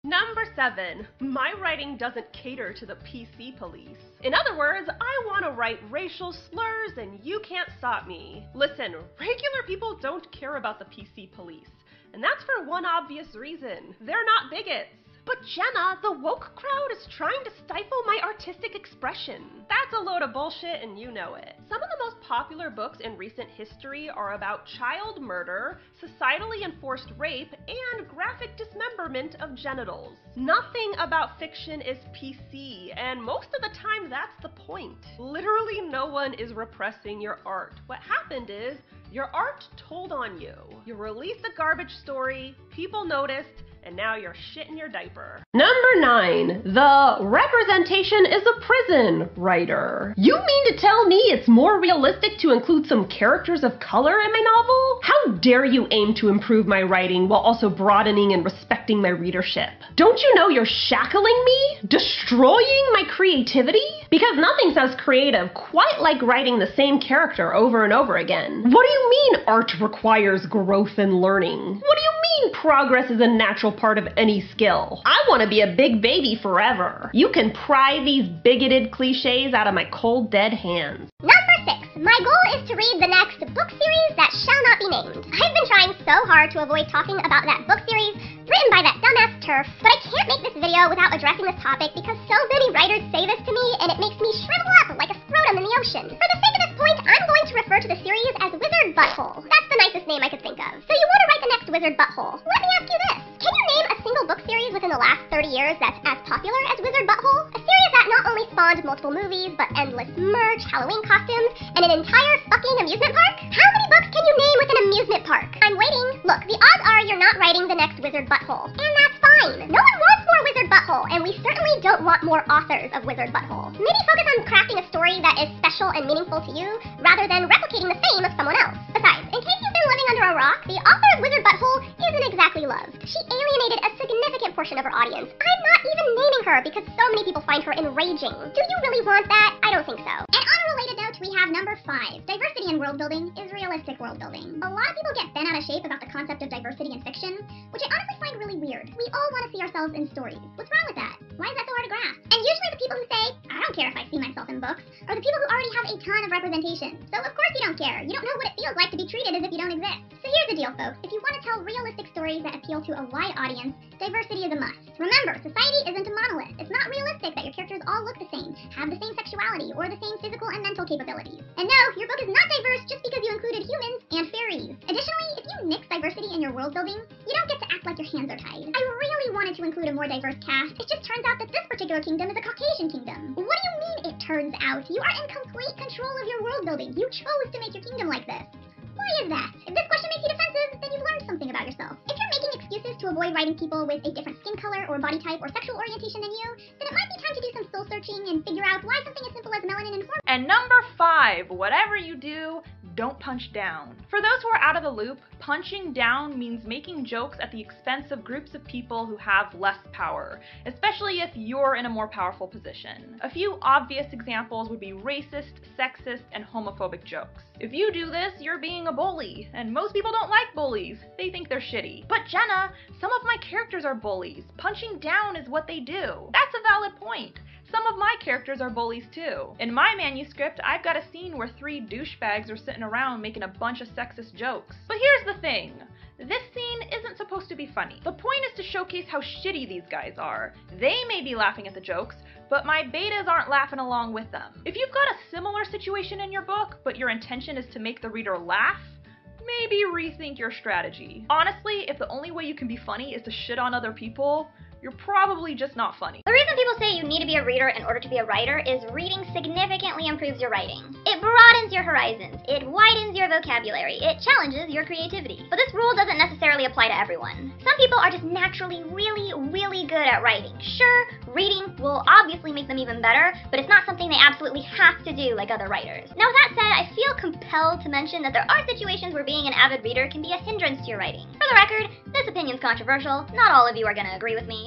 Number 7. My writing doesn't cater to the PC police. In other words, I want to write racial slurs and you can't stop me. Listen, regular people don't care about the PC police. And that's for one obvious reason. They're not bigots. But Jenna, the woke crowd is trying to stifle my artistic expression. That's a load of bullshit and you know it. Some of the most popular books in recent history are about child murder, societally enforced rape, and graphic dismemberment of genitals. Nothing about fiction is PC, and most of the time that's the point. Literally no one is repressing your art. What happened is, your art told on you. You released a garbage story, people noticed, and now you're shitting your diaper. Number 9. The representation is a prison writer. You mean to tell me it's more realistic to include some characters of color in my novel? How dare you aim to improve my writing while also broadening and respecting my readership? Don't you know you're shackling me? Destroying my creativity? Because nothing sounds creative quite like writing the same character over and over again. What do you mean art requires growth and learning? What do you mean progress is a natural part of any skill? I want to be a big baby forever. You can pry these bigoted cliches out of my cold, dead hands. Number 6. My goal is to read the next book series that shall not be named. I've been trying so hard to avoid talking about that book series written by that dumbass TERF, but I can't make this video without addressing this topic because so many writers say this to me and it makes me shrivel up like a scrotum in the ocean. For the sake of this point, I'm going to refer to the series as Wizard Butthole. That's the nicest name I could think of. So you want to write the next Wizard Butthole. Let me ask you this. Can you name a single book series within the last 30 years that's as popular as Wizard Butthole? A series that not only spawned multiple movies, but endless merch, Halloween costumes, and an entire fucking amusement park? How many books can you name with an amusement park? I'm waiting. Look, the odds are you're not writing the next Wizard Butthole. And that's fine. No one wants more Wizard Butthole, and we certainly don't want more authors of Wizard Butthole. Maybe focus on crafting a story that is special and meaningful to you, rather than replicating the fame of someone else. Besides, in case you've been living under a rock, the author of Wizard Butthole isn't exactly loved. She alienated a significant portion of her audience. I'm not even naming her because so many people find her enraging. Do you really want that? I don't think so. And on a related note, we have number 5. Diversity in world building is realistic world building. A lot of people get bent out of shape about the concept of diversity in fiction, which I honestly find really weird. We all want to see ourselves in stories. What's wrong with that? Why is that so hard to grasp? And usually the people who say, I don't care if I see myself in books, are the people who already have a ton of representation. So of course you don't care. You don't know what it feels like to be treated as if you don't exist. So here's the deal, folks. If you want to tell realistic stories that appeal to a wide audience, diversity is a must. Remember, society isn't a monolith. It's not realistic that your characters all look the same, have the same sexuality, or the same physical and mental capabilities. And no, your book is not diverse just because you included humans and fairies. Additionally, if you nix diversity in your world building, you don't get to act like your hands are tied. I really wanted to include a more diverse cast. It just turns out that this particular kingdom is a Caucasian kingdom. What do you mean it turns out? You are in complete control of your world building. You chose to make your kingdom like this. Why is that? If this question makes you defensive, then you've learned something about yourself. If you're making excuses to avoid writing people with a different skin color or body type or sexual orientation than you, then it might be time to do some soul searching and figure out why something as simple as melanin informs. And number 5, whatever you do, don't punch down. For those who are out of the loop, punching down means making jokes at the expense of groups of people who have less power, especially if you're in a more powerful position. A few obvious examples would be racist, sexist, and homophobic jokes. If you do this, you're being a bully, and most people don't like bullies. They think they're shitty. But Jenna, some of my characters are bullies. Punching down is what they do. That's a valid point. Some of my characters are bullies too. In my manuscript, I've got a scene where 3 douchebags are sitting around making a bunch of sexist jokes. But here's the thing. This scene isn't supposed to be funny. The point is to showcase how shitty these guys are. They may be laughing at the jokes, but my betas aren't laughing along with them. If you've got a similar situation in your book, but your intention is to make the reader laugh, maybe rethink your strategy. Honestly, if the only way you can be funny is to shit on other people, you're probably just not funny. The reason people say you need to be a reader in order to be a writer is reading significantly improves your writing. It broadens your horizons, it widens your vocabulary, it challenges your creativity. But this rule doesn't necessarily apply to everyone. Some people are just naturally really good at writing. Sure, reading will obviously make them even better, but it's not something they absolutely have to do like other writers. Now with that said, I feel compelled to mention that there are situations where being an avid reader can be a hindrance to your writing. For the record, this opinion's controversial. Not all of you are gonna agree with me.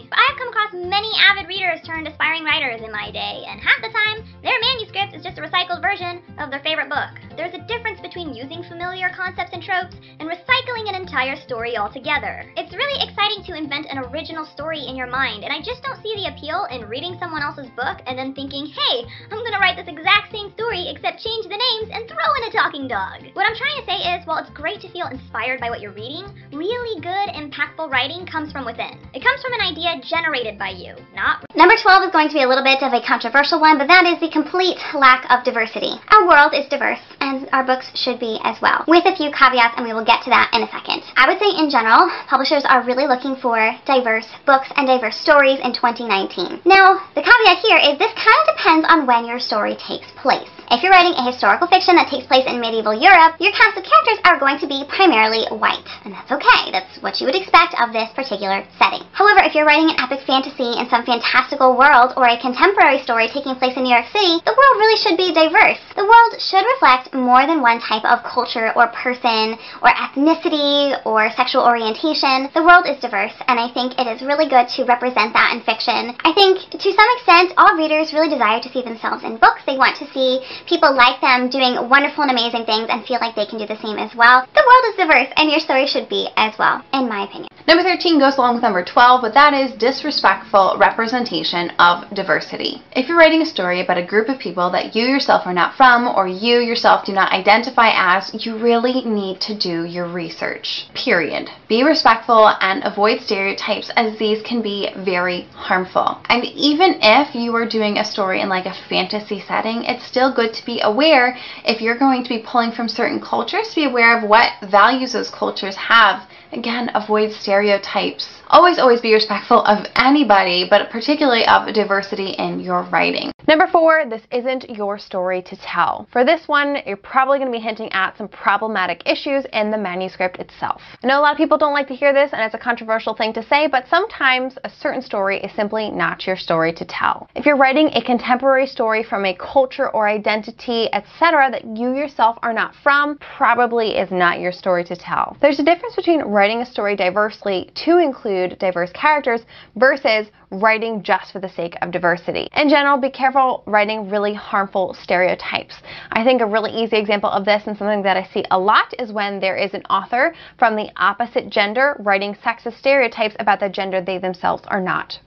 But I've come across many avid readers turned aspiring writers in my day, and half the time, their manuscript is just a recycled version of their favorite book. There's a difference between using familiar concepts and tropes and recycling an entire story altogether. It's really exciting to invent an original story in your mind, and I just don't see the appeal in reading someone else's book and then thinking, hey, I'm gonna write this exact same story except change the names and throw in a talking dog. What I'm trying to say is, while it's great to feel inspired by what you're reading, really good, impactful writing comes from within. It comes from an idea generated by you, not... Number 12 is going to be a little bit of a controversial one, but that is the complete lack of diversity. Our world is diverse, and our books should be as well, with a few caveats, and we will get to that in a second. I would say in general, publishers are really looking for diverse books and diverse stories in 2019. Now, the caveat here is this kind of depends on when your story takes place. If you're writing a historical fiction that takes place in medieval Europe, your cast of characters are going to be primarily white, and that's okay. That's what you would expect of this particular setting. However, if you're writing an epic fantasy in some fantastical world or a contemporary story taking place in New York City, the world really should be diverse. The world should reflect more than one type of culture or person or ethnicity or sexual orientation. The world is diverse, and I think it is really good to represent that in fiction. I think, to some extent, all readers really desire to see themselves in books. They want to see people like them doing wonderful and amazing things and feel like they can do the same as well. The world is diverse, and your story should be as well, in my opinion. Number 13 goes along with number 12, but that is disrespectful representation of diversity. If you're writing a story about a group of people that you yourself are not from, or you yourself do not identify as, you really need to do your research. Period. Be respectful and avoid stereotypes, as these can be very harmful. And even if you are doing a story in like a fantasy setting, it's still good to be aware, if you're going to be pulling from certain cultures, to be aware of what values those cultures have. Again, avoid stereotypes. Always be respectful of anybody, but particularly of diversity in your writing. Number 4, this isn't your story to tell. For this one, you're probably going to be hinting at some problematic issues in the manuscript itself. I know a lot of people don't like to hear this, and it's a controversial thing to say, but sometimes a certain story is simply not your story to tell. If you're writing a contemporary story from a culture or identity, etc., that you yourself are not from, probably is not your story to tell. There's a difference between writing a story diversely to include diverse characters versus writing just for the sake of diversity. In general, be careful writing really harmful stereotypes. I think a really easy example of this, and something that I see a lot, is when there is an author from the opposite gender writing sexist stereotypes about the gender they themselves are not.